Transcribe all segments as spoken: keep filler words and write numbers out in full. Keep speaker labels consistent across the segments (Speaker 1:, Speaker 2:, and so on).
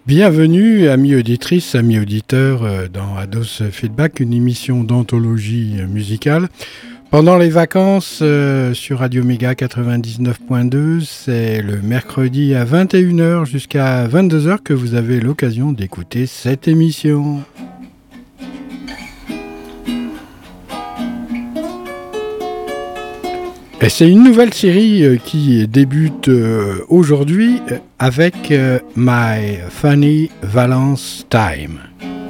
Speaker 1: Bienvenue, amis auditrices, amis auditeurs, dans Ados Feedback, une émission d'anthologie musicale. Pendant les vacances, euh, sur Radio Méga quatre-vingt-dix-neuf point deux, c'est le mercredi à vingt et une heures jusqu'à vingt-deux heures que vous avez l'occasion d'écouter cette émission. Et c'est une nouvelle série euh, qui débute euh, aujourd'hui avec euh, My Funny Valence Time.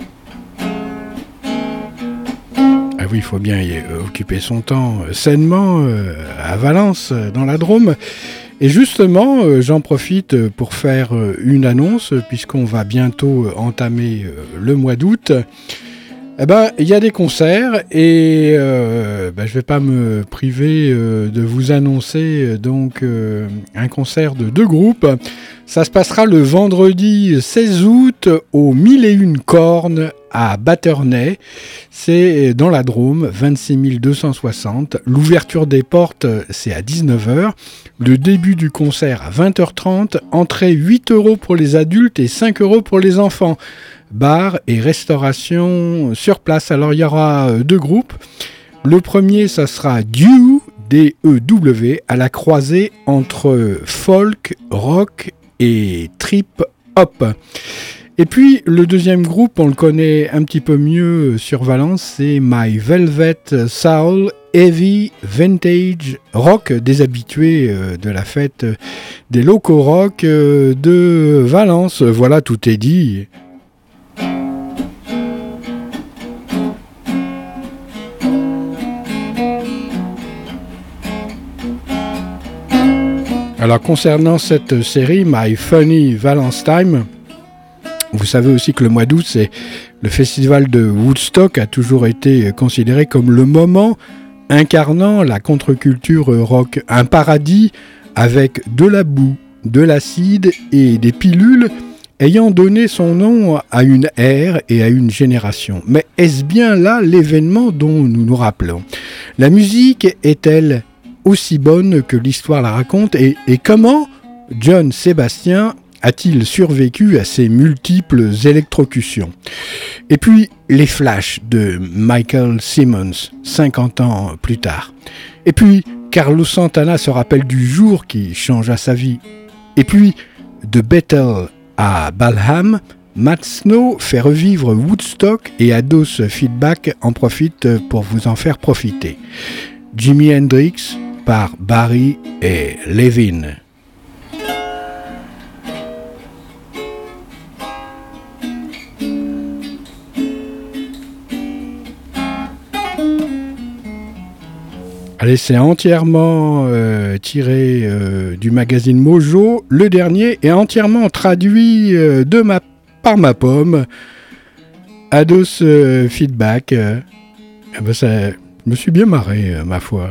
Speaker 1: Ah oui, il faut bien y occuper son temps euh, sainement euh, à Valence, euh, dans la Drôme. Et justement, euh, j'en profite pour faire euh, une annonce, puisqu'on va bientôt entamer euh, le mois d'août. Eh ben, il y a des concerts et euh, ben, je vais pas me priver euh, de vous annoncer euh, donc euh, un concert de deux groupes. Ça se passera le vendredi seize août au mille et une cornes à Batternay. C'est dans la Drôme, vingt-six mille deux cent soixante. L'ouverture des portes, c'est à dix-neuf heures. Le début du concert à vingt heures trente. Entrée huit euros pour les adultes et cinq euros pour les enfants. Bar et restauration sur place. Alors il y aura deux groupes. Le premier, ça sera Dew, D E W, à la croisée entre folk, rock et trip hop. Et puis le deuxième groupe, on le connaît un petit peu mieux sur Valence, c'est My Velvet Soul Heavy Vintage Rock, des habitués de la fête des locaux rock de Valence. Voilà, tout est dit. Alors concernant cette série My Funny Valence Time, vous savez aussi que le mois d'août, c'est le festival de Woodstock, a toujours été considéré comme le moment incarnant la contre-culture rock, un paradis avec de la boue, de l'acide et des pilules ayant donné son nom à une ère et à une génération. Mais est-ce bien là l'événement dont nous nous rappelons ? La musique est-elle aussi bonne que l'histoire la raconte, et, et comment John Sébastien a-t-il survécu à ces multiples électrocutions ? Et puis les flashs de Michael Simmons, cinquante ans plus tard. Et puis Carlos Santana se rappelle du jour qui changea sa vie. Et puis de Bethel à Balham, Matt Snow fait revivre Woodstock et Ados Feedback en profite pour vous en faire profiter. Jimi Hendrix par Barry et Levin. Allez, c'est entièrement euh, tiré euh, du magazine Mojo, le dernier, et entièrement traduit euh, de ma, par ma pomme. Ados euh, Feedback. Euh, eh ben ça, je me suis bien marré, euh, ma foi.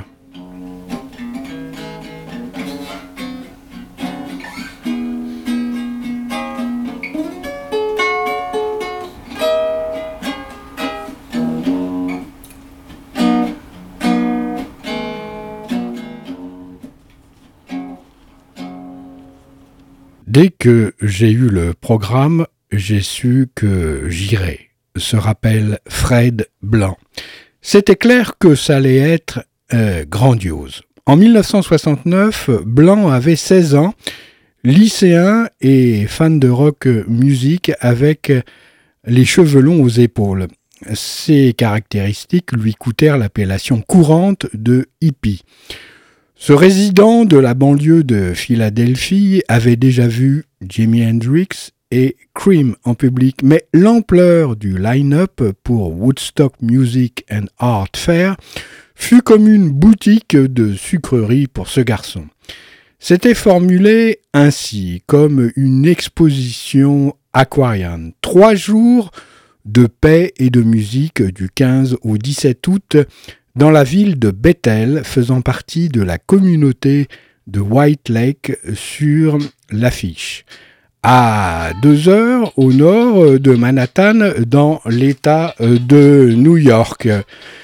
Speaker 1: Dès que j'ai eu le programme, j'ai su que j'irais, se rappelle Fred Blanc. C'était clair que ça allait être euh, grandiose. En dix-neuf cent soixante-neuf, Blanc avait seize ans, lycéen et fan de rock music avec les cheveux longs aux épaules. Ces caractéristiques lui coûtèrent l'appellation courante de hippie. Ce résident de la banlieue de Philadelphie avait déjà vu Jimi Hendrix et Cream en public, mais l'ampleur du line-up pour Woodstock Music and Art Fair fut comme une boutique de sucreries pour ce garçon. C'était formulé ainsi, comme une exposition aquarienne. Trois jours de paix et de musique du quinze au dix-sept août dans la ville de Bethel, faisant partie de la communauté de White Lake sur l'affiche. À deux heures au nord de Manhattan, dans l'État de New York.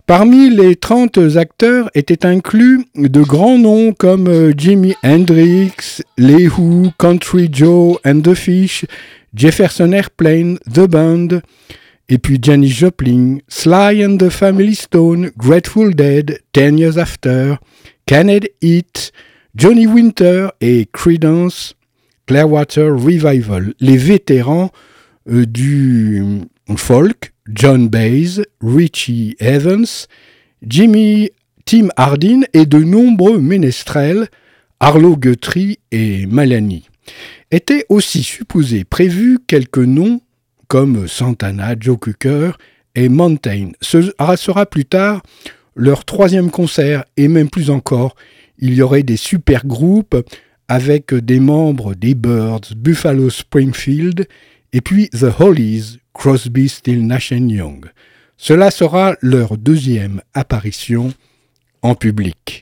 Speaker 1: Parmi les trente acteurs étaient inclus de grands noms comme Jimi Hendrix, Les Who, Country Joe and the Fish, Jefferson Airplane, The Band, et puis Janis Joplin, Sly and the Family Stone, Grateful Dead, Ten Years After, Canned Heat, Johnny Winter et Creedence Clearwater Revival. Les vétérans euh, du folk, John Baez, Richie Evans, Jimmy Tim Hardin et de nombreux ménestrels, Arlo Guthrie et Malani. Étaient aussi supposés prévus quelques noms comme Santana, Joe Cocker et Mountain. Ce sera plus tard leur troisième concert et même plus encore. Il y aurait des super groupes avec des membres des Byrds, Buffalo Springfield et puis The Hollies, Crosby, Stills, Nash and Young. Cela sera leur deuxième apparition en public.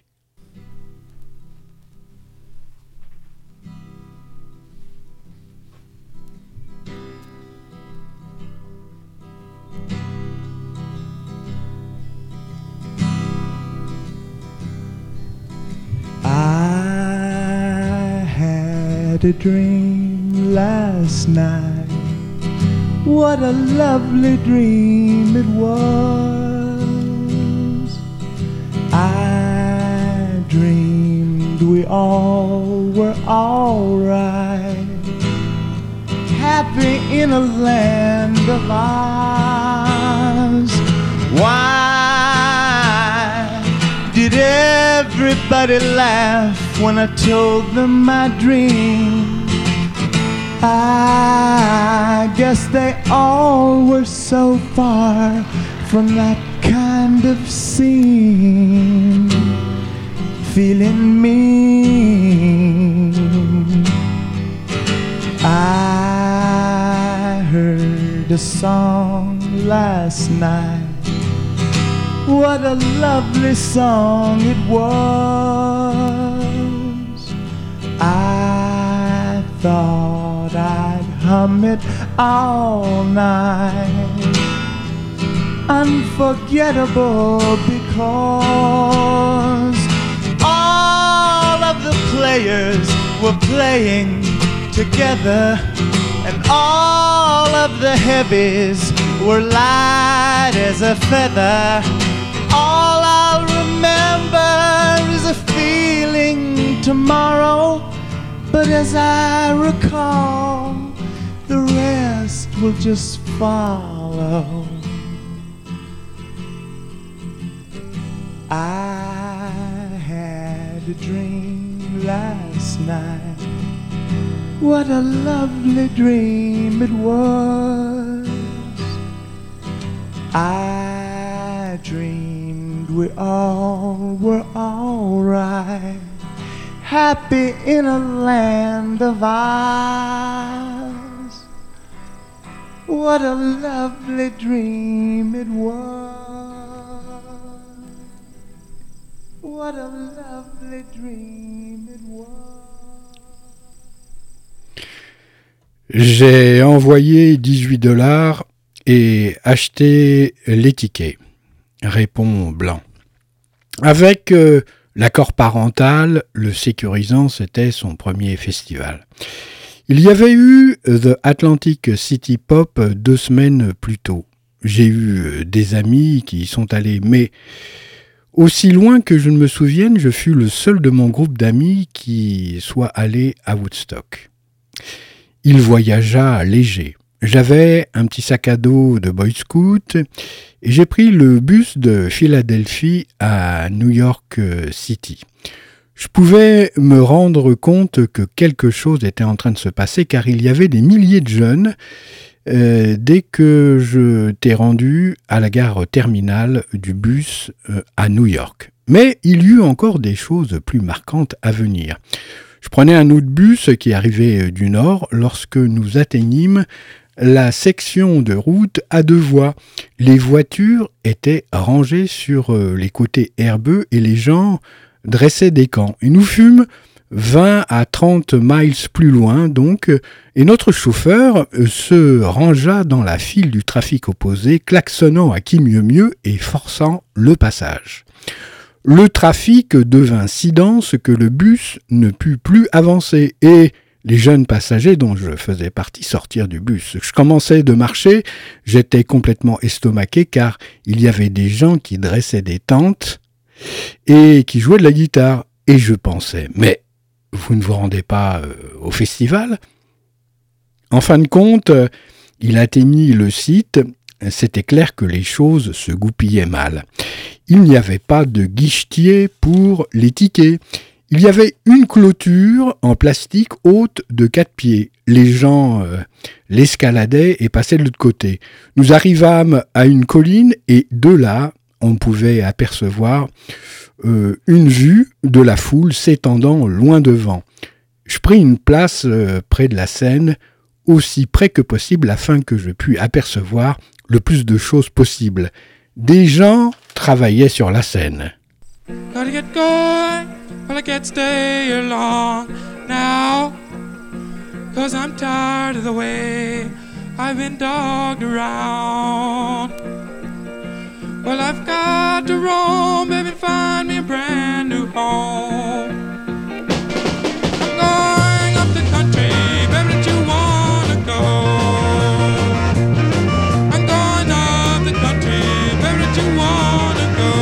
Speaker 2: I had a dream last night. What a lovely dream it was. I dreamed we all were alright, happy in a land of ours. Why did everybody laugh when I told them my dream? I guess they all were so far from that kind of scene, feeling mean. I heard a song last night. What a lovely song it was. I thought I'd hum it all night. Unforgettable because all of the players were playing together, and all of the heavies were light as a feather. All I'll remember is a feeling tomorrow, but as I recall, the rest will just follow. I had a dream last night. What a lovely dream it was. I dreamed we all were alright, happy in a land of ours. What a lovely dream it was. What a lovely dream it was.
Speaker 1: J'ai envoyé dix-huit dollars et acheté les tickets, répond Blanc. Avec euh, l'accord parental, le sécurisant, c'était son premier festival. Il y avait eu The Atlantic City Pop deux semaines plus tôt. J'ai eu des amis qui y sont allés, mais aussi loin que je ne me souvienne, je fus le seul de mon groupe d'amis qui soit allé à Woodstock. Il voyagea léger. J'avais un petit sac à dos de Boy Scout et j'ai pris le bus de Philadelphie à New York City. Je pouvais me rendre compte que quelque chose était en train de se passer car il y avait des milliers de jeunes euh, dès que je t'ai rendu à la gare terminale du bus euh, à New York. Mais il y eut encore des choses plus marquantes à venir. Je prenais un autre bus qui arrivait du nord lorsque nous atteignîmes la section de route à deux voies. Les voitures étaient rangées sur les côtés herbeux et les gens dressaient des camps. Et nous fûmes vingt à trente miles plus loin donc, et notre chauffeur se rangea dans la file du trafic opposé, klaxonnant à qui mieux mieux et forçant le passage. Le trafic devint si dense que le bus ne put plus avancer et les jeunes passagers dont je faisais partie sortirent du bus. Je commençais de marcher, j'étais complètement estomaqué car il y avait des gens qui dressaient des tentes et qui jouaient de la guitare. Et je pensais, mais vous ne vous rendez pas euh, au festival ? En fin de compte, euh, il atteignit le site. C'était clair que les choses se goupillaient mal. Il n'y avait pas de guichetier pour les tickets. Il y avait une clôture en plastique haute de quatre pieds. Les gens euh, l'escaladaient et passaient de l'autre côté. Nous arrivâmes à une colline et de là, on pouvait apercevoir euh, une vue de la foule s'étendant loin devant. Je pris une place euh, près de la scène, aussi près que possible afin que je puisse apercevoir le plus de choses possible. Des gens travaillaient sur la scène.
Speaker 3: Gotta get going, well I can't stay here long now, cause I'm tired of the way I've been dogged around. Well I've got to roam, baby, find me a brand new home. I'm going up the country, baby, don't you wanna go? I'm going up the country, baby, don't you wanna go?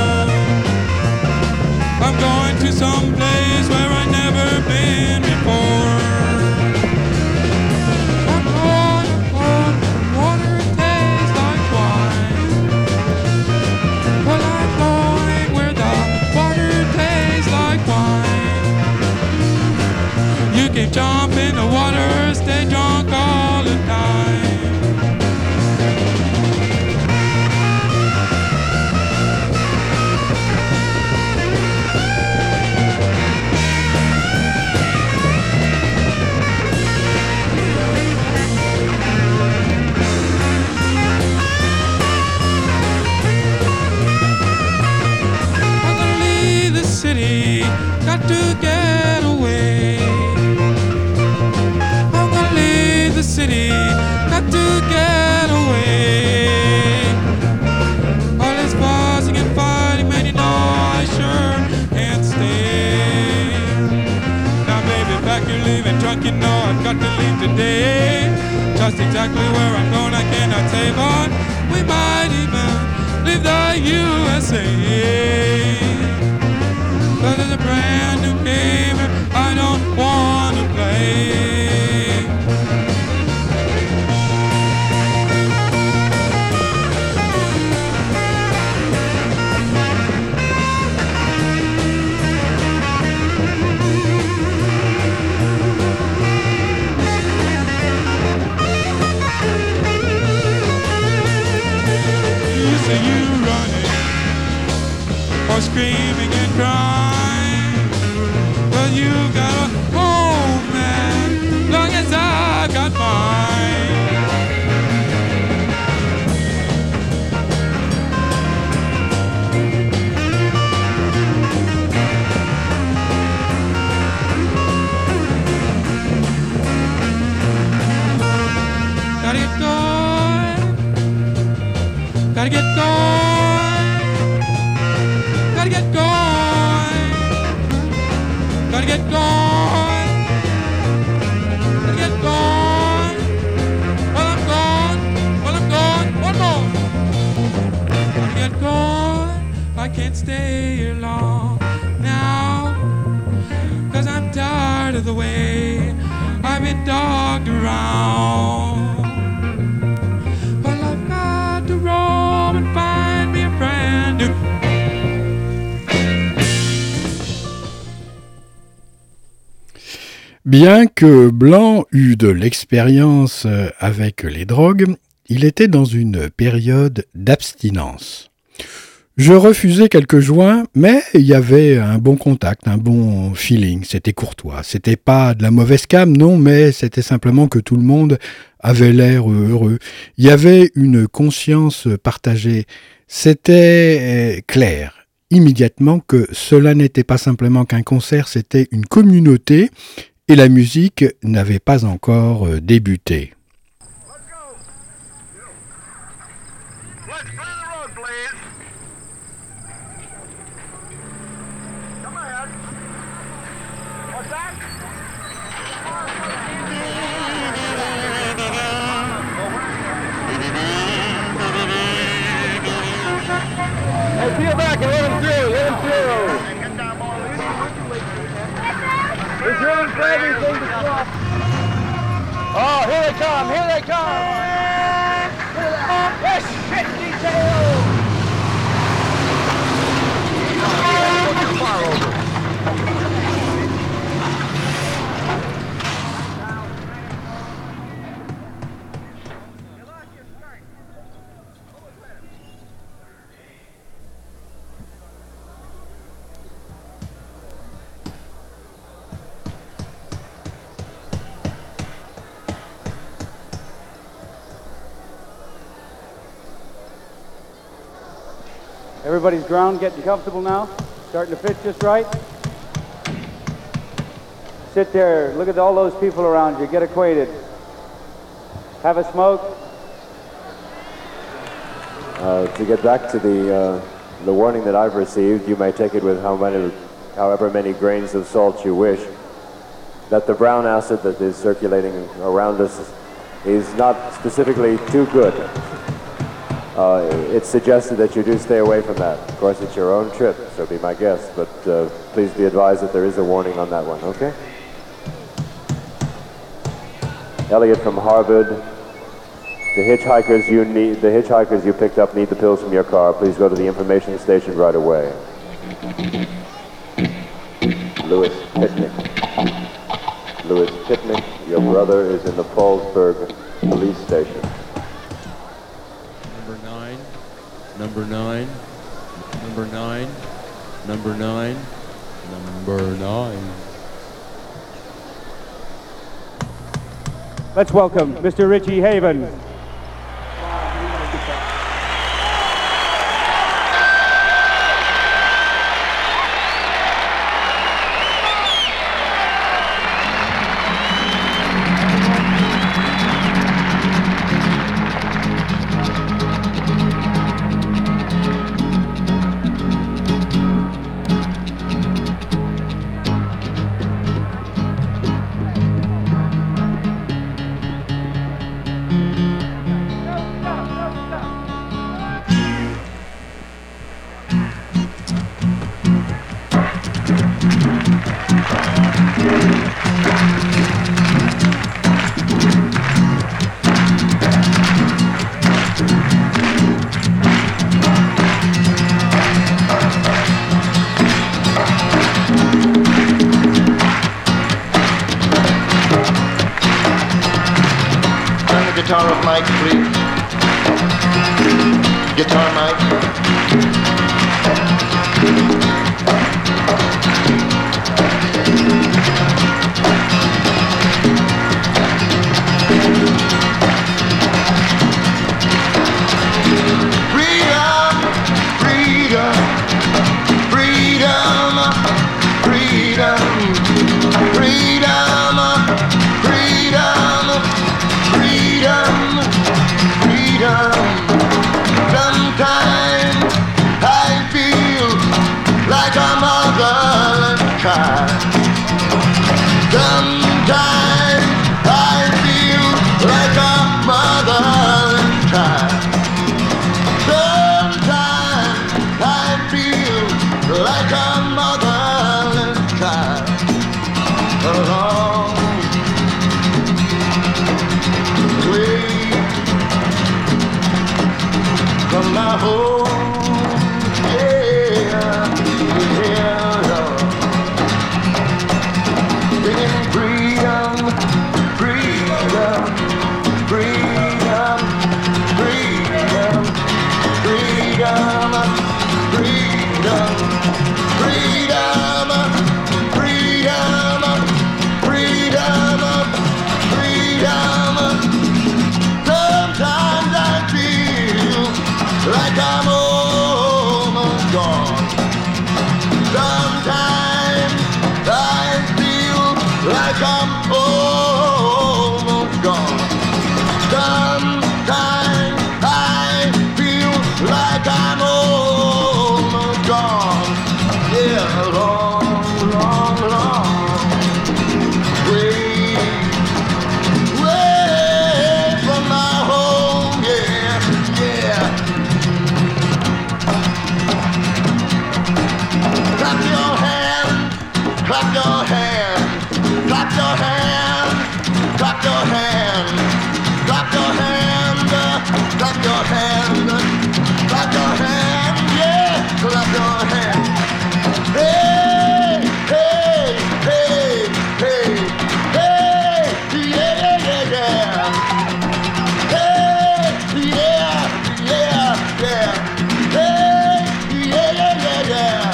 Speaker 3: I'm going to some place where I've never been before. I'm going, I'm going, water it tastes like wine. Well, I'm going where the water tastes like wine. You can jump in the water, stay drunk all the time. Got to get away. I'm gonna leave the city. Got to get away. All this fussing and fighting, man, you know I sure can't stay. Now, baby, back you're leaving drunk, you know I've got to leave today. Just exactly where I'm going, I cannot say, but we might even leave the U S A. But there's a brand new game I don't want to play. You say you running or screaming and crying. You got a home, man, long as I got mine. Gotta get going, gotta get going, gotta get going. Gotta get going, gotta get going. Well, I'm gone, well, I'm gone, one more. Gotta get going, I can't stay here long now, cause I'm tired of the way I've been dogged around. Well, I've got to roam and find me a brand new.
Speaker 1: Bien que Blanc eût de l'expérience avec les drogues, il était dans une période d'abstinence. Je refusais quelques joints, mais il y avait un bon contact, un bon feeling, c'était courtois. C'était pas de la mauvaise cam, non, mais c'était simplement que tout le monde avait l'air heureux. Il y avait une conscience partagée, c'était clair. immédiatement que cela n'était pas simplement qu'un concert, c'était une communauté et la musique n'avait pas encore débuté.
Speaker 4: Peel back and let him through, let him through. He's doing for everything to stop. Oh, here they come, here they come. Yes, shit detail. Far over. Everybody's ground getting comfortable now? Starting to fit just right? Sit there, look at all those people around you, get acquainted. Have a smoke?
Speaker 5: Uh, to get back to the, uh, the warning that I've received, you may take it with how many, however many grains of salt you wish, that the brown acid that is circulating around us is not specifically too good. Uh, it's suggested that you do stay away from that. Of course, it's your own trip, so be my guest, but uh, please be advised that there is a warning on that one, okay? Elliot from Harvard. The hitchhikers you need, the hitchhikers you picked up need the pills from your car. Please go to the information station right away. Louis Pitnick. Louis Pitnick, your brother is in the Paulsburg police station.
Speaker 3: Number nine, number nine, number nine, number nine.
Speaker 4: Let's welcome Mister Richie Haven.
Speaker 6: Guitar of Mike, please. Guitar, Mike. Freedom, freedom, freedom, freedom, freedom, freedom. Freedom, freedom. Sometimes I feel like a motherless child. Sometimes I feel like a motherless child. Sometimes I feel like a motherless child. like I'm almost gone. Sometimes I feel like I'm almost gone. Yeah, long, long, long way, way from my home. Yeah, yeah. Clap your hands, clap your hands, clap your hands, clap your hands, clap your hands, clap your hands, clap your hands, yeah, clap your hands. Hey, hey, hey, hey, hey, yeah, yeah, yeah. Hey, yeah, yeah, yeah. Hey, yeah, yeah, yeah, yeah.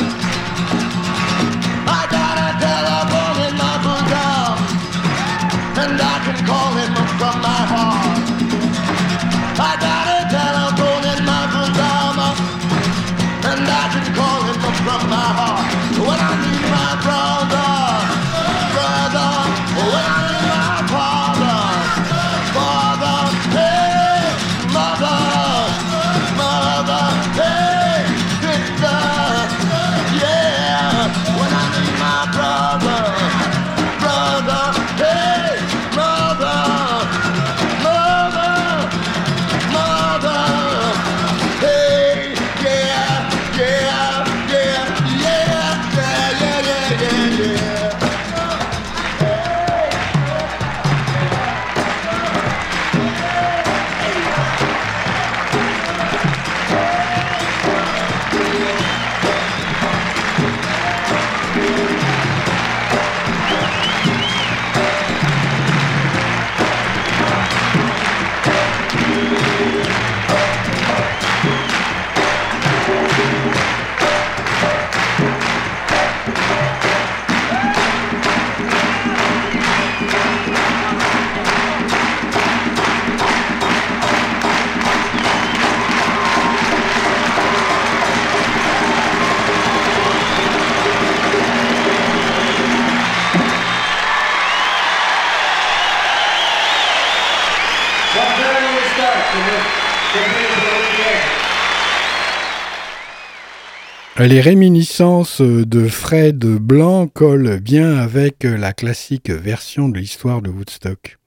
Speaker 6: I got a telephone in my bosom, and I can call him from my heart. I got a telephone in my bosom, and I can call him from my heart. When I need my brother, brother, when I need my father, father, hey, mother, mother, hey, sister, yeah. When I need my brother, brother, hey, mother, mother, mother, hey, yeah, yeah, yeah, yeah, yeah, yeah, yeah, yeah, yeah.
Speaker 1: Les réminiscences de Fred Blanc collent bien avec la classique version de l'histoire de Woodstock.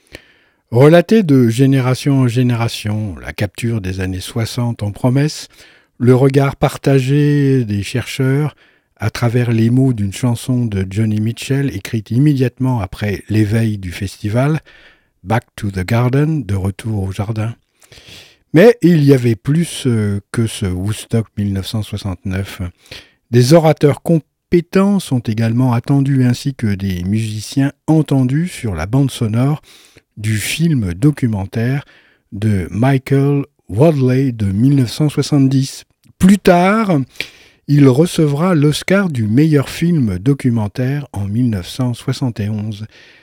Speaker 1: Relatée de génération en génération, la capture des années soixante en promesse, le regard partagé des chercheurs à travers les mots d'une chanson de Johnny Mitchell écrite immédiatement après l'éveil du festival, Back to the Garden, de retour au jardin. Mais il y avait plus que ce Woodstock mille neuf cent soixante-neuf. Des orateurs compétents sont également attendus ainsi que des musiciens entendus sur la bande sonore du film documentaire de Michael Wadley de mille neuf cent soixante-dix. Plus tard, il recevra l'Oscar du meilleur film documentaire en mille neuf cent soixante et onze.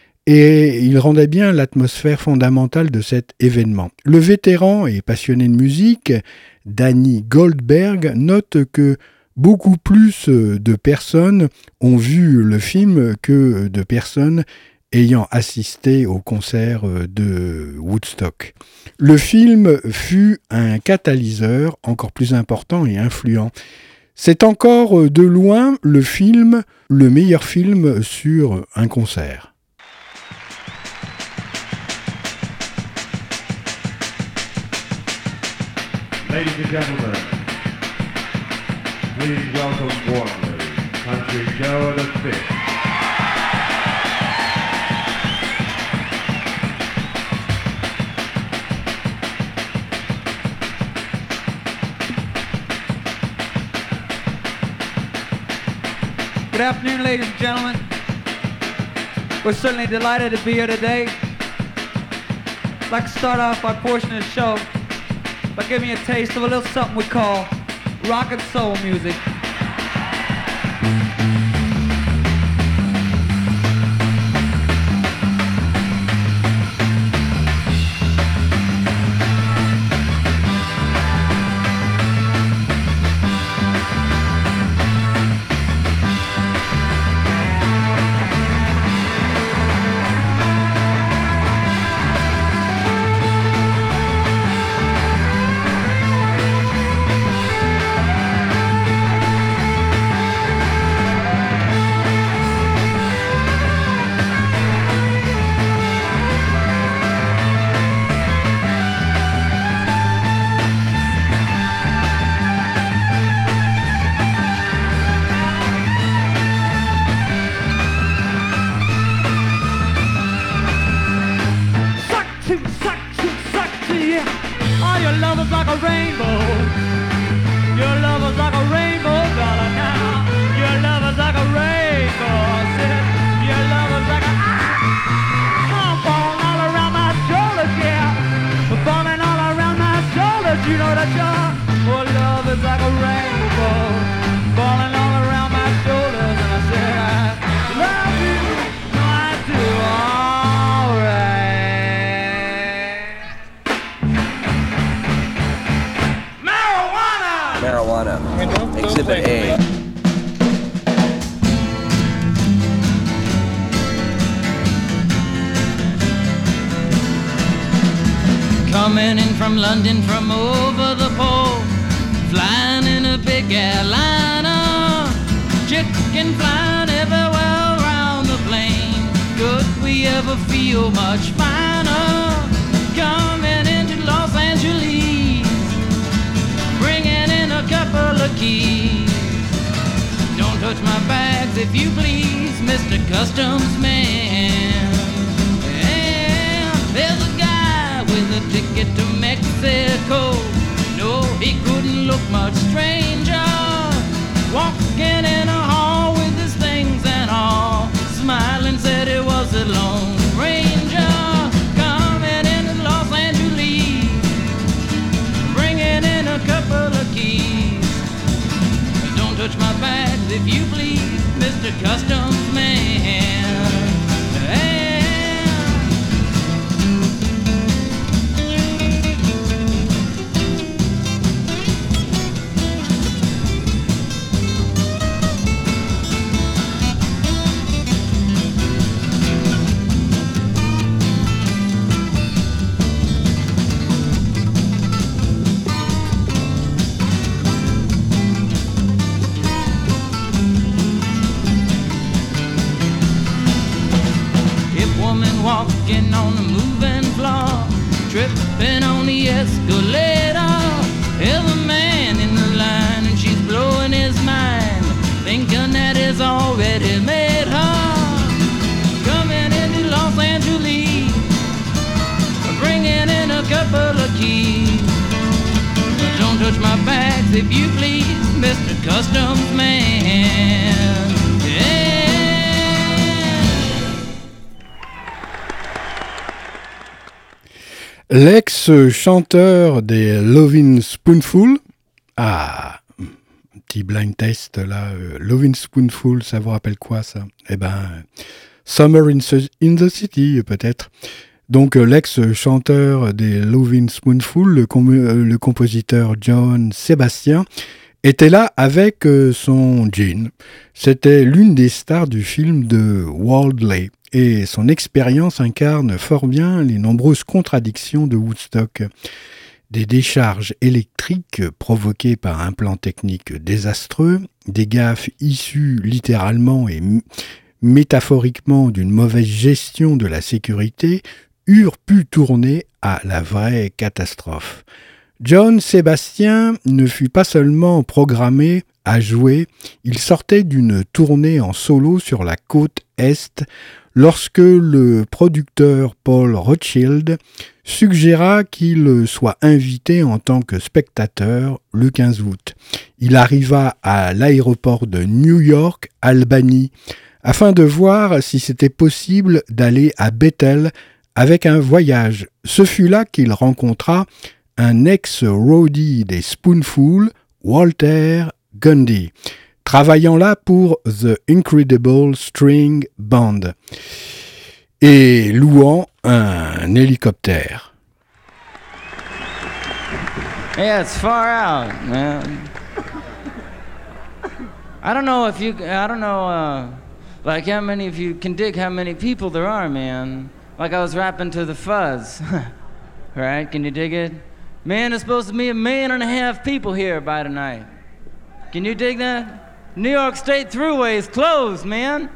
Speaker 1: Et il rendait bien l'atmosphère fondamentale de cet événement. Le vétéran et passionné de musique, Danny Goldberg, note que beaucoup plus de personnes ont vu le film que de personnes ayant assisté au concert de Woodstock. Le film fut un catalyseur encore plus important et influent. C'est encore de loin le film, le meilleur film sur un concert.
Speaker 7: Ladies and gentlemen, please welcome warmly Country Joe the Fifth.
Speaker 2: Good afternoon, ladies and gentlemen. We're certainly delighted to be here today. I'd like to start off our portion of the show by giving you a taste of a little something we call rock and soul music. a rainbow. Your love is like a rainbow, darling, now. Your love is like a rainbow. I said, your love is like a ah, I'm falling all around my shoulders, yeah. Falling all around my shoulders, you know that your oh, love is like a rainbow. Falling all around my shoulders, and I said, I love you, I do, alright.
Speaker 8: Marijuana. Exhibit A.
Speaker 9: Coming in from London from over the pole, flying in a big airliner, chicken flying everywhere around the plane. Could we ever feel much finer? Coming into Los Angeles, bringing in a couple of keys. Don't touch my bags if you please, Mister Customs Man. And there's a guy with a ticket to Mexico. No, he couldn't look much stranger, walking in a hall with his things and all, smiling said it was a Lone Ranger. Coming into Los Angeles, bringing in a couple of keys. Don't touch my bags if you please, Mister Customs Man. Walking on the moving floor, tripping on the escalator. There's a man in the line and she's blowing his mind, thinking that he's already made her. Coming into Los Angeles, bringing in a couple of keys. Don't touch my bags if you please, Mister Customs Man.
Speaker 1: L'ex-chanteur des Lovin' Spoonful, ah, un petit blind test là, euh, Lovin' Spoonful, ça vous rappelle quoi ça? Eh ben, Summer in, in the City peut-être. Donc euh, l'ex-chanteur des Lovin' Spoonful, le, com- euh, le compositeur John Sebastian, était là avec euh, son jean. C'était l'une des stars du film de Wardley. Et son expérience incarne fort bien les nombreuses contradictions de Woodstock. Des décharges électriques provoquées par un plan technique désastreux, des gaffes issues littéralement et m- métaphoriquement d'une mauvaise gestion de la sécurité, eurent pu tourner à la vraie catastrophe. John Sebastian ne fut pas seulement programmé à jouer, il sortait d'une tournée en solo sur la côte Est, lorsque le producteur Paul Rothchild suggéra qu'il soit invité en tant que spectateur le quinze août. Il arriva à l'aéroport de New York, Albany, afin de voir si c'était possible d'aller à Bethel avec un voyage. Ce fut là qu'il rencontra un ex-roadie des Spoonful, Walter Gundy, travaillant là pour The Incredible String Band et louant un hélicoptère.
Speaker 9: Yeah, it's far out, man. I don't know if you, I don't know, uh, like how many of you can dig how many people there are, man. Like I was rapping to the Fuzz, right? Can you dig it? Man, there's supposed to be a million and a half people here by tonight. Can you dig that? New York State Thruway is closed, man.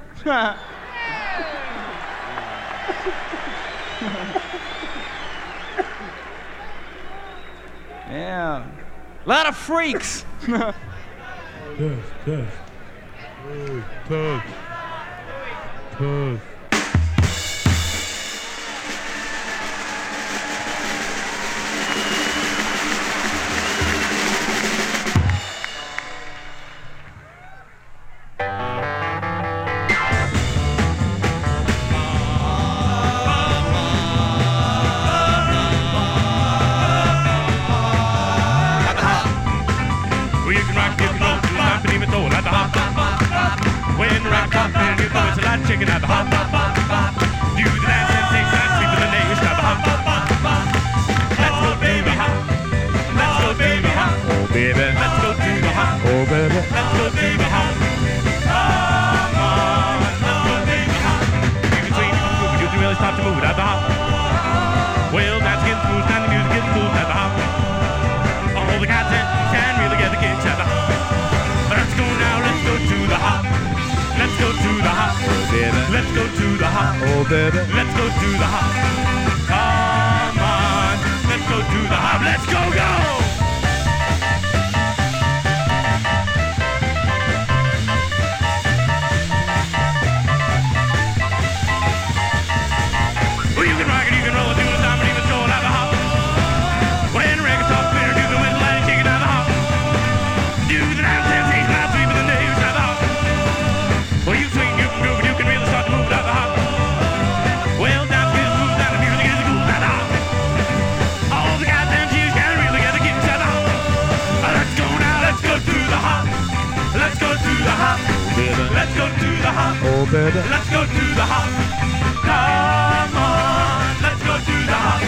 Speaker 9: Yeah. A lot of freaks.
Speaker 3: Test, test. Hey, test. Test.
Speaker 10: shaking at the hop, hop, hop, hop. Do the dance and take that sweep in the nation at the hop, hop, hop, hop. Let's go, baby, hop. Let's go, baby, hop. Oh, baby. Let's go to the hop. Oh, baby. Let's go, baby, hop. Come on, let's go, baby, hop. You can swing, you can move, you can really start to move at the hop. Well, that's getting smooth, and the music gets smooth at the hop. All the cats can really get the kicks at the hop. Let's go now, let's go to the hop. Let's go to the hop. Oh, baby. Let's go to the hop. Oh, baby. Let's go to the hop. Come on, let's go to the hop. Let's go, go! Well, you can rock it, you can roll it, do the time, and even throw it out the hop. When the record starts clear, do the whistle and kick it out the hop. Do the dance and take loud sweep in the news out the hop. Well, you swing, you can groove, and you can really start to move out the hop. Well, dance is smooth, and the music is cool out the hop. All the goddamn Jews can really get the kicks out the hop. Let's go now, let's go to the hop. Let's go to the hop. Let's go to the hop. Oh, baby. Let's go to the hop. Come on, let's go to the hop.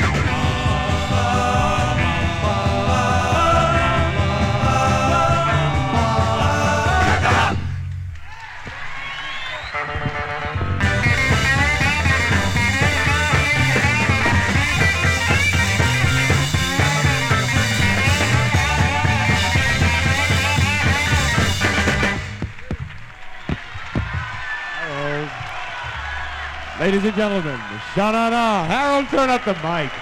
Speaker 7: Ladies and gentlemen, Sha-na-na. Harold, turn up the mic.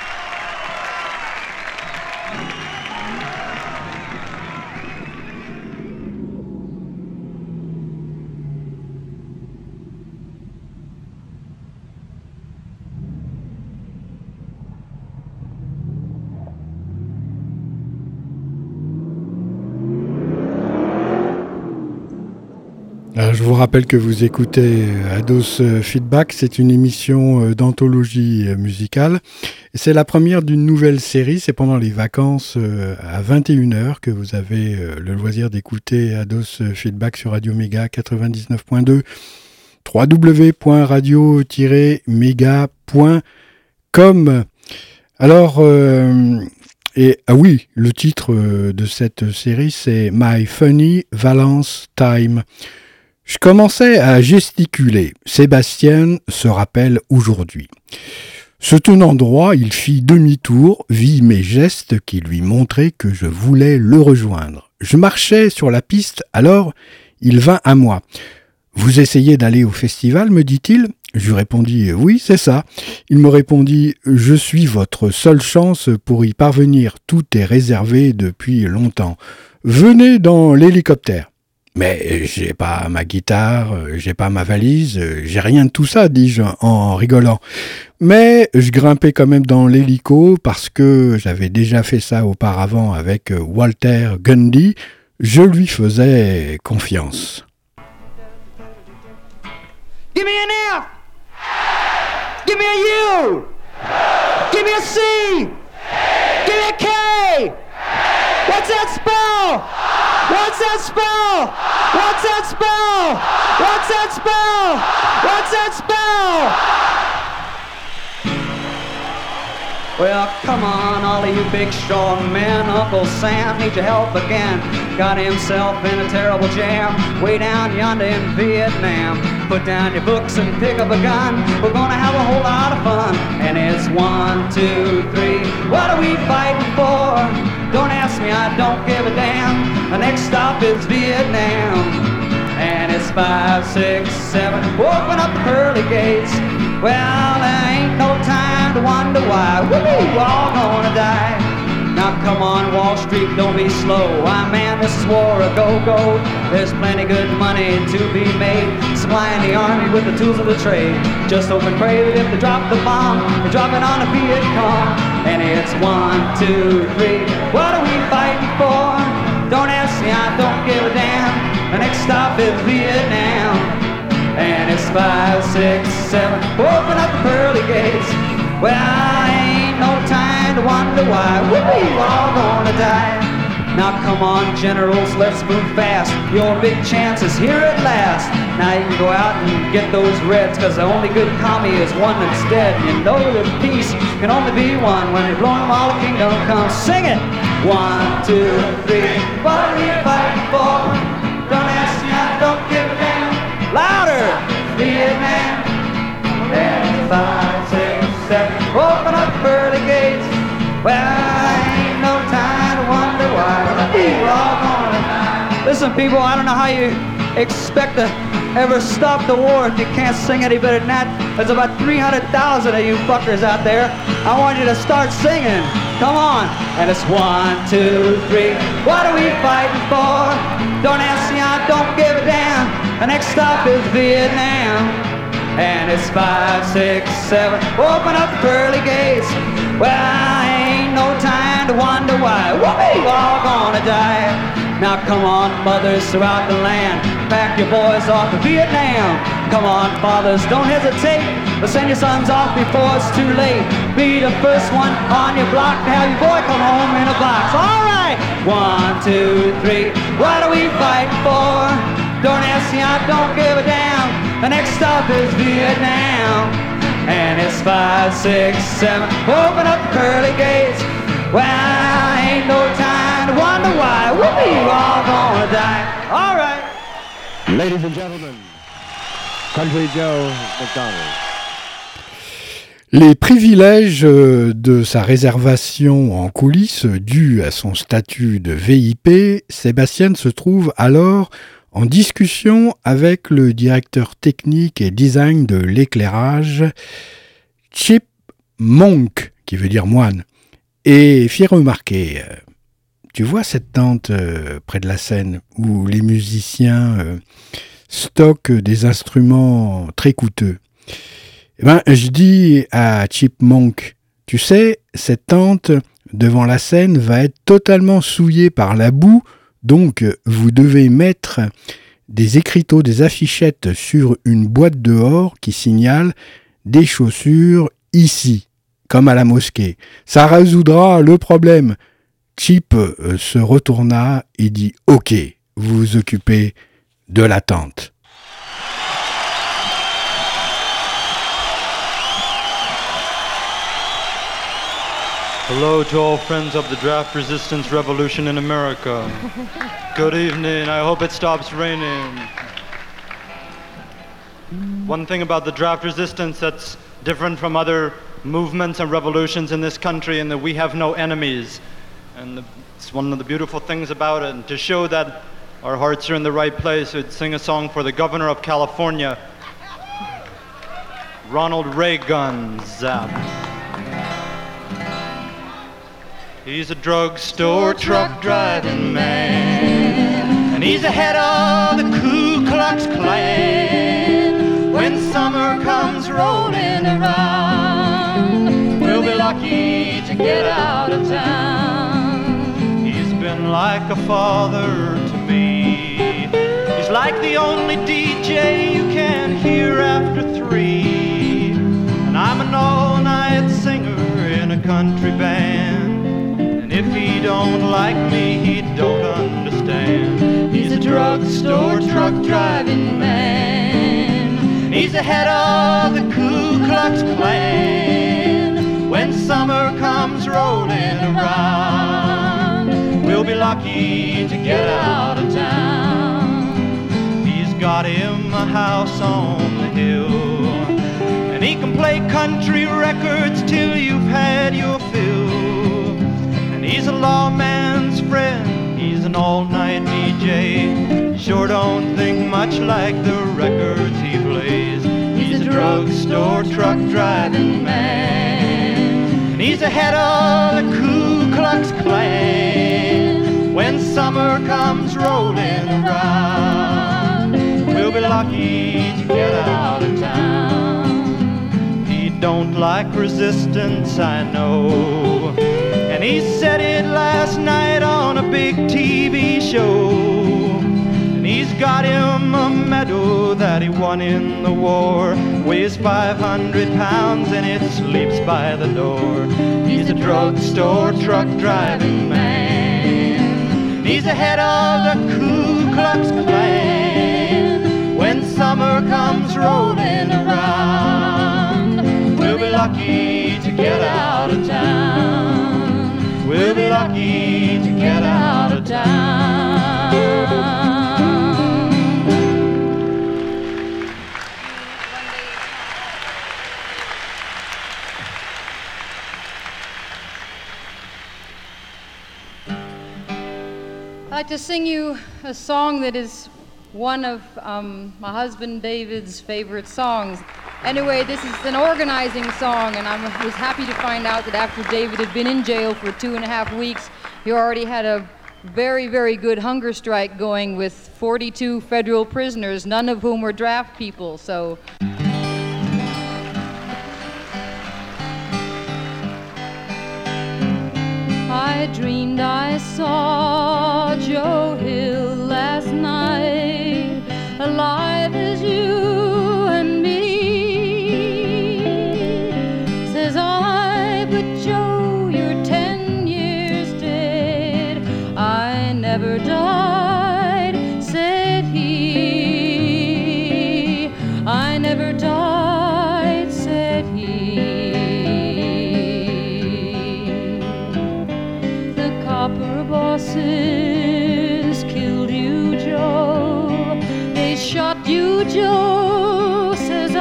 Speaker 1: Alors, je vous rappelle que vous écoutez Ados Feedback, c'est une émission d'anthologie musicale. C'est la première d'une nouvelle série, c'est pendant les vacances à vingt et une heures que vous avez le loisir d'écouter Ados Feedback sur Radio Méga quatre-vingt-dix-neuf point deux, w w w point radio tiret méga point com. Alors, euh, et, ah oui, le titre de cette série c'est My Funny Valence Time. Je commençais à gesticuler. Sébastien se rappelle aujourd'hui. Se tenant droit, il fit demi-tour, vit mes gestes qui lui montraient que je voulais le rejoindre. Je marchais sur la piste, alors il vint à moi. « Vous essayez d'aller au festival, me dit-il ?» Je lui répondis « Oui, c'est ça. » Il me répondit « Je suis votre seule chance pour y parvenir. Tout est réservé depuis longtemps. Venez dans l'hélicoptère. » Mais j'ai pas ma guitare, j'ai pas ma valise, j'ai rien de tout ça, dis-je en rigolant. Mais je grimpais quand même dans l'hélico parce que j'avais déjà fait ça auparavant avec Walter Gundy. Je lui faisais confiance.
Speaker 11: Give me an F! Give me a U! Give me a C! Give me a K! What's that spell? What's that spell? What's that spell? What's that spell? What's that spell? Well, come on, all of you big strong men. Uncle Sam needs your help again. Got himself in a terrible jam way down yonder in Vietnam. Put down your books and pick up a gun. We're gonna have a whole lot of fun. And it's one, two, three. What are we fighting for? Don't ask me, I don't give a damn. The next stop is Vietnam. And it's five, six, seven. Open up the pearly gates. Well, there ain't no time to wonder why. Woo, we're all gonna die. Now come on, Wall Street, don't be slow. Why, man, this is war a go-go. There's plenty good money to be made, supplying the army with the tools of the trade. Just hope and pray that if they drop the bomb, they drop it on the Viet Cong. And it's one, two, three. What are we fighting for? Don't ask me, I don't give a damn. The next stop is Vietnam. And it's five, six, seven. Open up the pearly gates. Well, ain't no time to wonder why. We're all gonna die. Now come on, generals, let's move fast. Your big chance is here at last. Now you can go out and get those reds, cause the only good commie is one that's dead. You know that peace can only be one when you've blown them all, the kingdom comes. Sing it! One, two, three, what are we fighting for? Don't ask me, I don't give a damn. Louder! Vietnam. And five, six, seven, open up pearly gates. Well, ain't no time to wonder why we're all gonna die. Listen, people, I don't know how you expect to ever stop the war if you can't sing any better than that. There's about three hundred thousand of you fuckers out there. I want you to start singing. Come on. And it's one, two, three. What are we fighting for? Don't ask me, I don't give a damn. The next stop is Vietnam. And it's five, six, seven. Open up the pearly gates. Well, ain't no time to wonder why we're all gonna die. Now come on, mothers throughout the land, pack your boys off to Vietnam. Come on, fathers, don't hesitate, but send your sons off before it's too late. Be the first one on your block to have your boy come home in a box. All right, one, two, three. What are we fighting for? Don't ask me, I don't give a damn. The next stop is Vietnam. And it's five, six, seven. Open up the pearly gates. Well, ain't no time to wonder why we're all gonna die. All right.
Speaker 7: Ladies and gentlemen, Country Joe McDonald.
Speaker 1: Les privilèges de sa réservation en coulisses dus à son statut de V I P, Sébastien se trouve alors en discussion avec le directeur technique et design de l'éclairage, Chip Monk, qui veut dire moine, et fit remarquer, euh, tu vois cette tente euh, près de la scène où les musiciens euh, stockent des instruments très coûteux. Eh ben, je dis à Chip Monk, tu sais, cette tente devant la scène va être totalement souillée par la boue. Donc, vous devez mettre des écriteaux, des affichettes sur une boîte dehors qui signale des chaussures ici, comme à la mosquée. Ça résoudra le problème. Chip euh, se retourna et dit « Ok, vous vous occupez de la tente. »
Speaker 12: Hello to all friends of the draft resistance revolution in America. Good evening. I hope it stops raining. One thing about the draft resistance that's different from other movements and revolutions in this country in that we have no enemies. And the, it's one of the beautiful things about it. And to show that our hearts are in the right place, we'd sing a song for the governor of California, Ronald Reagan. Zap. He's a drugstore truck driving man, and he's the head of the Ku Klux Klan. When summer comes rolling around, we'll be lucky to get out of town. He's been like a father to me. He's like the only D J you can hear after three. And I'm an all-night singer in a country band. If he don't like me, he don't understand. He's a drugstore truck driving man. He's the head of the Ku Klux Klan. When summer comes rolling around, we'll be lucky to get out of town. He's got him a house on the hill, and he can play country records till you've had your fill. He's a lawman's friend, he's an all-night D J. Sure don't think much like the records he plays. He's a drugstore truck driving man, and he's the head of the Ku Klux Klan. When summer comes rolling around, we'll be lucky to get out of town. He don't like resistance, I know, and he said it last night on a big T V show. And he's got him a medal that he won in the war. Weighs five hundred pounds and it sleeps by the door. He's a drugstore truck driving man. He's the head of the Ku Klux Klan. When summer comes rolling around, we'll be lucky to get out of town. We'll be lucky to get out of town.
Speaker 13: I'd like to sing you a song that is one of um, my husband David's favorite songs. Anyway, this is an organizing song, and I was happy to find out that after David had been in jail for two and a half weeks, he already had a very, very good hunger strike going with forty-two federal prisoners, none of whom were draft people, so... I dreamed I saw Joe Hill last night, alive as you and me. Says I, but Joe, you're ten years dead. I never died, said he. I never died, said he. Bosses killed you, Joe. They shot you, Joe, says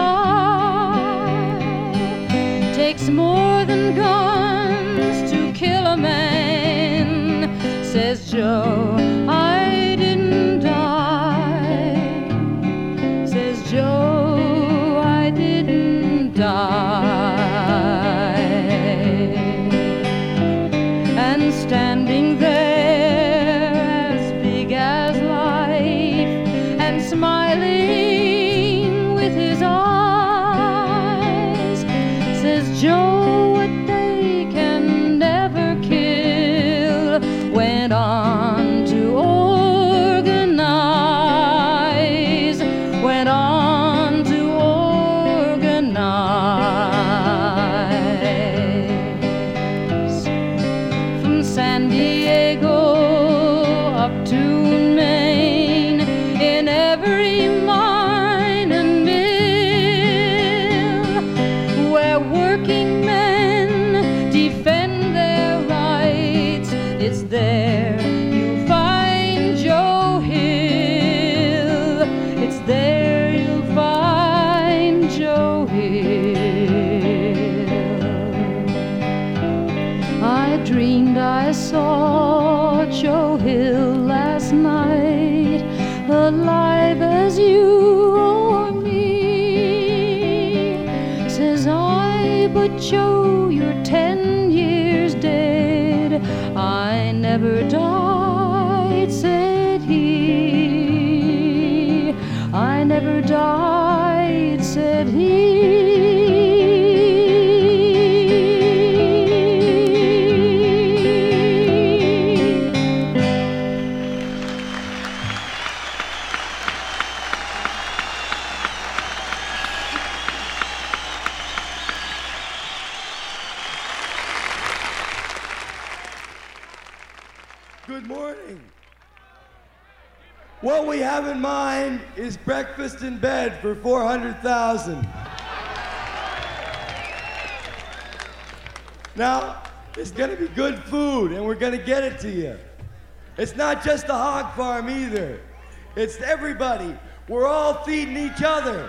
Speaker 13: I. Takes more than guns to kill a man, says Joe. I didn't die, says Joe. I didn't die. And standing there, smiling with his eyes, says Joe, what they can never kill, went on to organize, went on to organize. From San Diego up to Maine, in every mine and mill, where working men defend their rights, it's there you'll find Joe Hill. It's there you'll find Joe Hill. I dreamed I saw Joe Hill last night, alive as you or me. Says I, but Joe, you're ten years dead. I never died, said he. I never died, said he.
Speaker 14: Good morning. What we have in mind is breakfast in bed for four hundred thousand. Now, it's gonna be good food and we're gonna get it to you. It's not just the hog farm either. It's everybody. We're all feeding each other.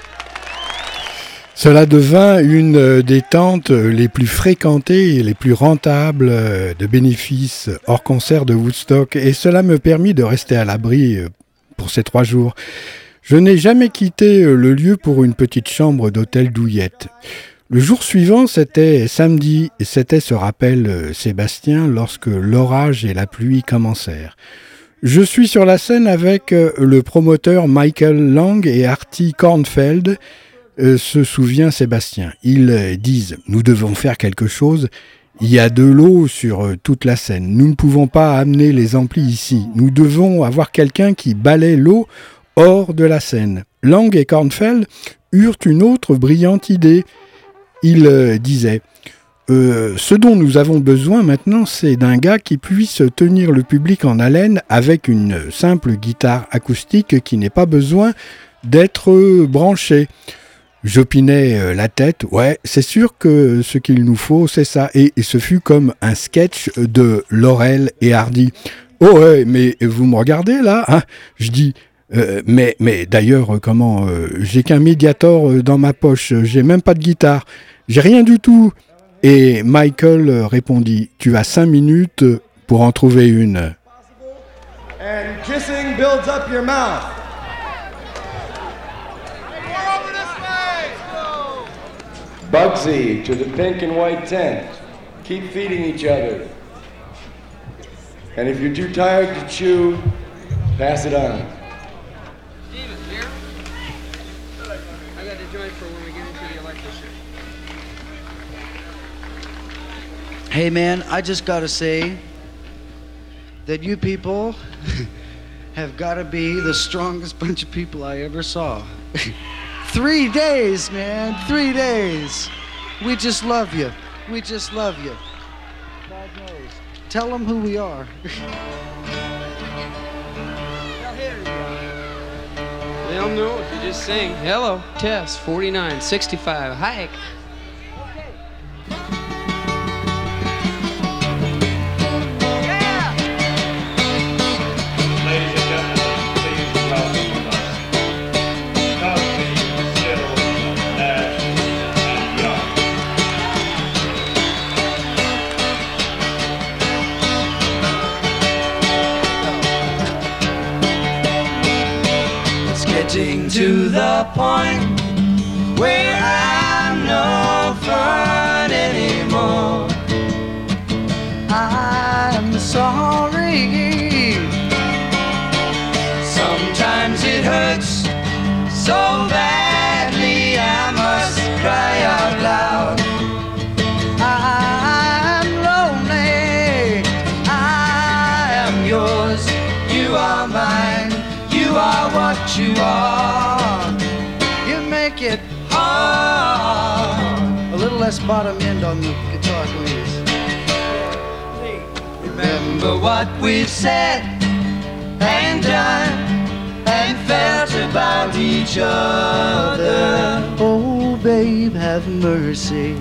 Speaker 1: Cela devint une des tentes les plus fréquentées et les plus rentables de bénéfices hors concert de Woodstock, et cela me permit de rester à l'abri pour ces trois jours. Je n'ai jamais quitté le lieu pour une petite chambre d'hôtel douillette. Le jour suivant, c'était samedi, et c'était, se rappelle Sébastien, lorsque l'orage et la pluie commencèrent. Je suis sur la scène avec le promoteur Michael Lang et Artie Kornfeld, euh, se souvient Sébastien. Ils disent « Nous devons faire quelque chose. Il y a de l'eau sur euh, toute la scène. Nous ne pouvons pas amener les amplis ici. Nous devons avoir quelqu'un qui balaie l'eau hors de la scène. » Lang et Kornfeld eurent une autre brillante idée. Ils euh, disaient euh, « Ce dont nous avons besoin maintenant, c'est d'un gars qui puisse tenir le public en haleine avec une simple guitare acoustique qui n'ait pas besoin d'être branché. J'opinais la tête, ouais, c'est sûr que ce qu'il nous faut, c'est ça. Et, et ce fut comme un sketch de Laurel et Hardy. Oh ouais, mais vous me regardez là, hein? Je dis, euh, mais, mais d'ailleurs, comment, euh, j'ai qu'un Mediator dans ma poche, j'ai même pas de guitare, j'ai rien du tout. Et Michael répondit, tu as cinq minutes pour en trouver une.
Speaker 14: And kissing builds up your mouth. Bugsy to the pink and white tent. Keep feeding each other. And if you're too tired to chew, pass it on.
Speaker 15: Steven, here? I got the joint for when we get into the electric shit.
Speaker 16: Hey man, I just gotta say that you people have gotta be the strongest bunch of people I ever saw. Three days, man, three days. We just love you. We just love you. God knows. Tell them who we are.
Speaker 15: They don't know if you just sing. Hello, Tess, forty-nine, sixty-five, hike.
Speaker 9: Getting to the point where I'm no fun anymore.
Speaker 16: I'm sorry.
Speaker 9: Sometimes it hurts so badly I must cry out loud.
Speaker 16: I'm lonely.
Speaker 9: I am yours, you are mine. You are what you are.
Speaker 16: You make it
Speaker 9: hard.
Speaker 16: A little less bottom end on the guitar, please.
Speaker 9: Remember what we've said and done and felt about each other.
Speaker 16: Oh, babe, have mercy.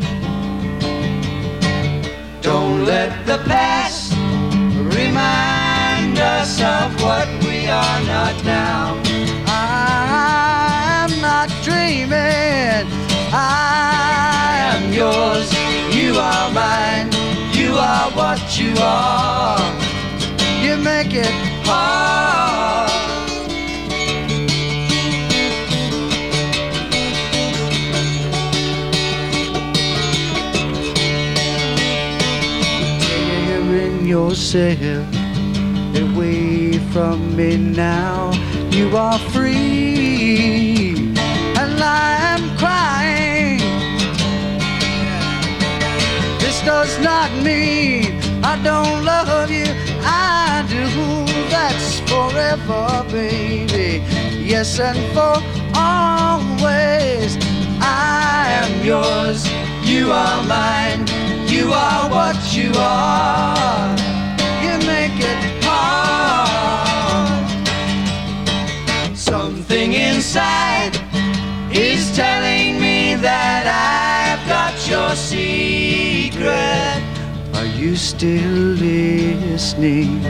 Speaker 9: Don't let the past remind us of what we are not now.
Speaker 16: I'm not dreaming.
Speaker 9: I am yours, you are mine. You are what you are.
Speaker 16: You make it
Speaker 9: hard.
Speaker 16: Tearing yourself away from me now. You are free, and I am crying. This does not mean I don't love you. I do. That's forever, baby. Yes, and for always.
Speaker 9: I am yours, you are mine. You are what you are.
Speaker 16: You make it
Speaker 9: hard. Something inside is telling me that I've got your secret.
Speaker 16: Are you still listening?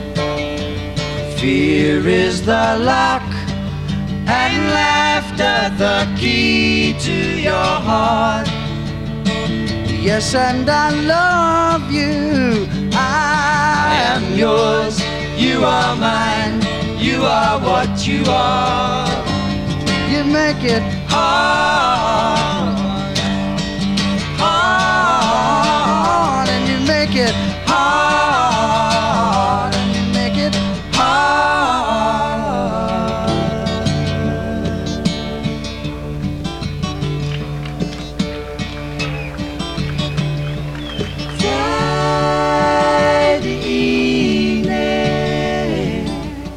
Speaker 9: Fear is the lock and laughter the key to your heart.
Speaker 16: Yes, and I love you.
Speaker 9: I am yours, you are mine. You are what you are.
Speaker 16: You make it
Speaker 9: hard, hard,
Speaker 16: and you make it
Speaker 9: hard,
Speaker 16: and you make it
Speaker 9: Friday evening,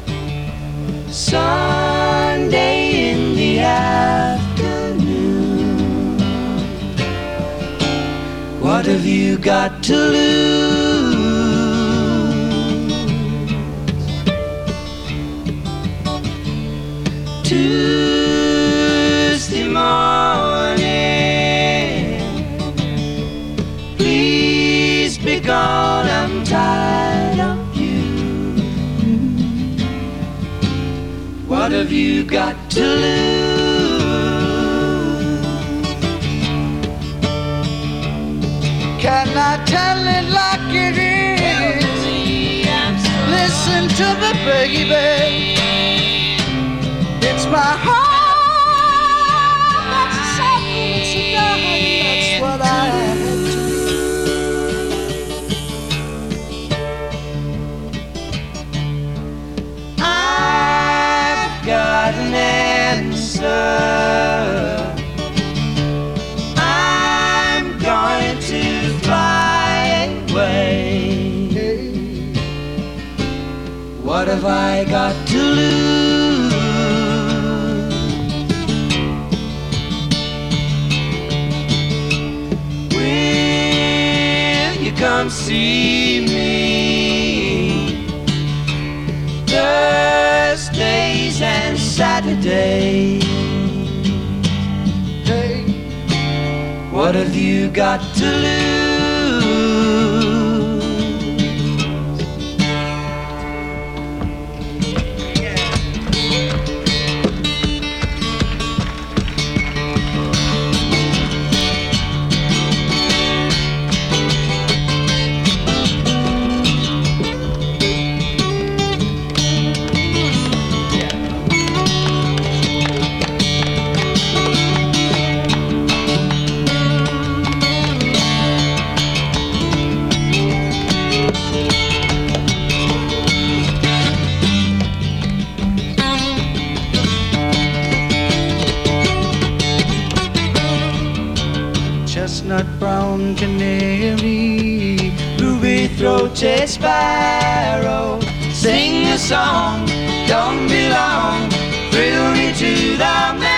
Speaker 9: Sunday in the afternoon. What have you got to lose? Tuesday morning, please be gone, I'm tired of you. What have you got to lose?
Speaker 6: Can I tell it like it is? Listen to the baby. It's my heart that's suffering, so darling, that's what I had to do.
Speaker 9: I've got an answer. I'm going to fly away. What have I got to lose? Will you come see me Thursdays and Saturdays? Hey, what have you got to lose?
Speaker 6: Chestnut brown canary,
Speaker 9: ruby-throated sparrow, sing a song, don't be long, thrill me to the marrow.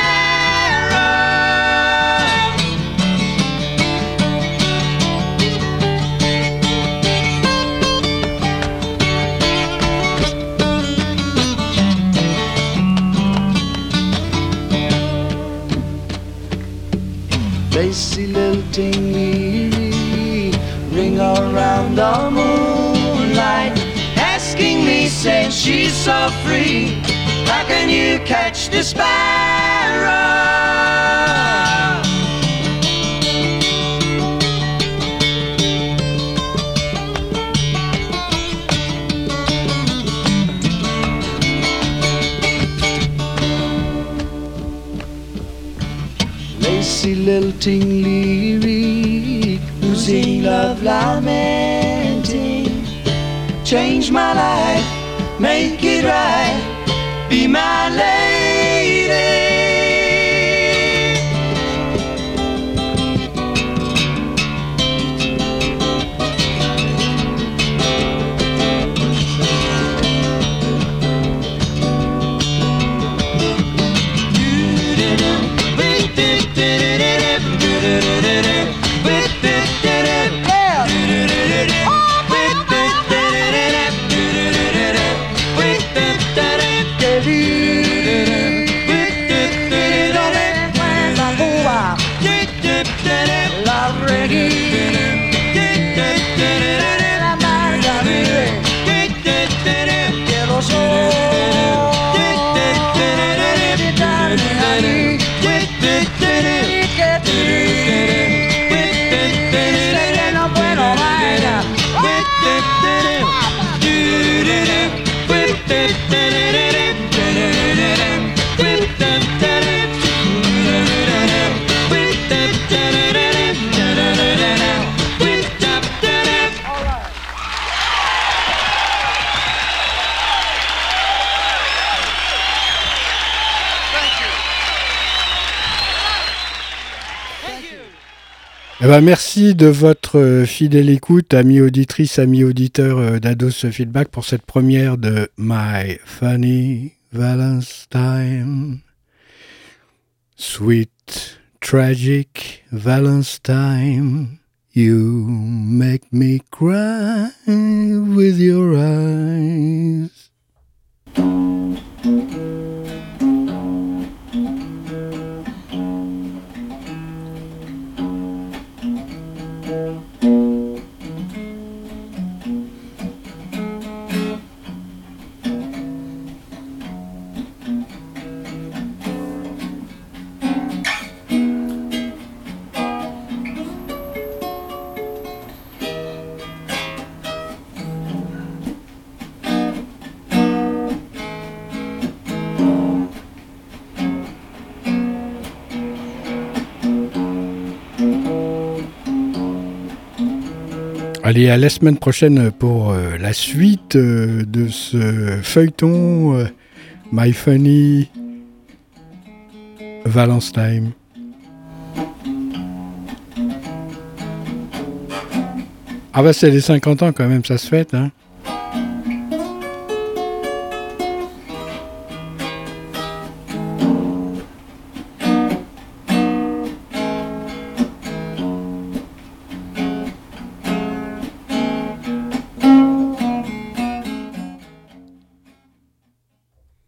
Speaker 6: lacy lilting me, ring around the moonlight,
Speaker 9: asking me, saying she's so free, how can you catch the sparrow?
Speaker 6: lacy lilting lyric,
Speaker 9: losing love lamenting, change my life, make it right, be my lady.
Speaker 1: Eh ben, merci de votre fidèle écoute, amis auditrices, amis auditeurs d'Ados Feedback, pour cette première de My Funny Valentine. Sweet, tragic Valentine, you make me cry with your eyes. Allez, à la semaine prochaine pour euh, la suite euh, de ce feuilleton euh, My Funny Valence Time. Ah bah c'est les cinquante ans quand même, ça se fête, hein.